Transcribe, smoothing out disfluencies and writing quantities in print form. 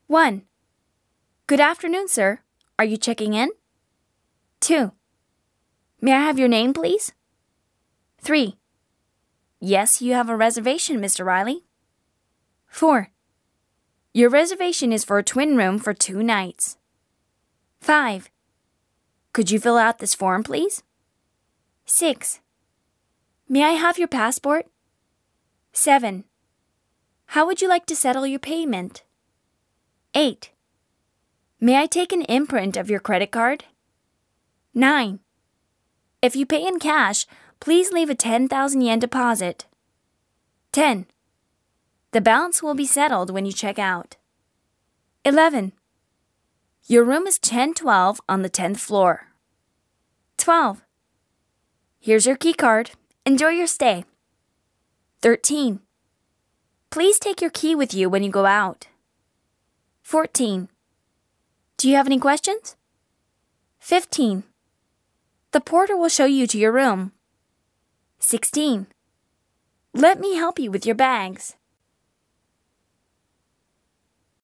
1. Good afternoon, sir. Are you checking in? 2. May I have your name, please? 3. Yes, you have a reservation, Mr. Riley. 4. Your reservation is for a twin room for 2 nights. 5. Could you fill out this form, please? 6. May I have your passport? 7. How would you like to settle your payment? 8. May I take an imprint of your credit card? 9. If you pay in cash, please leave a 10,000 yen deposit. 10. The balance will be settled when you check out. 11. Your room is 1012 on the 10th floor. 12. Here's your key card. Enjoy your stay. 13. Please take your key with you when you go out. 14. Do you have any questions? 15. The porter will show you to your room. 16. Let me help you with your bags.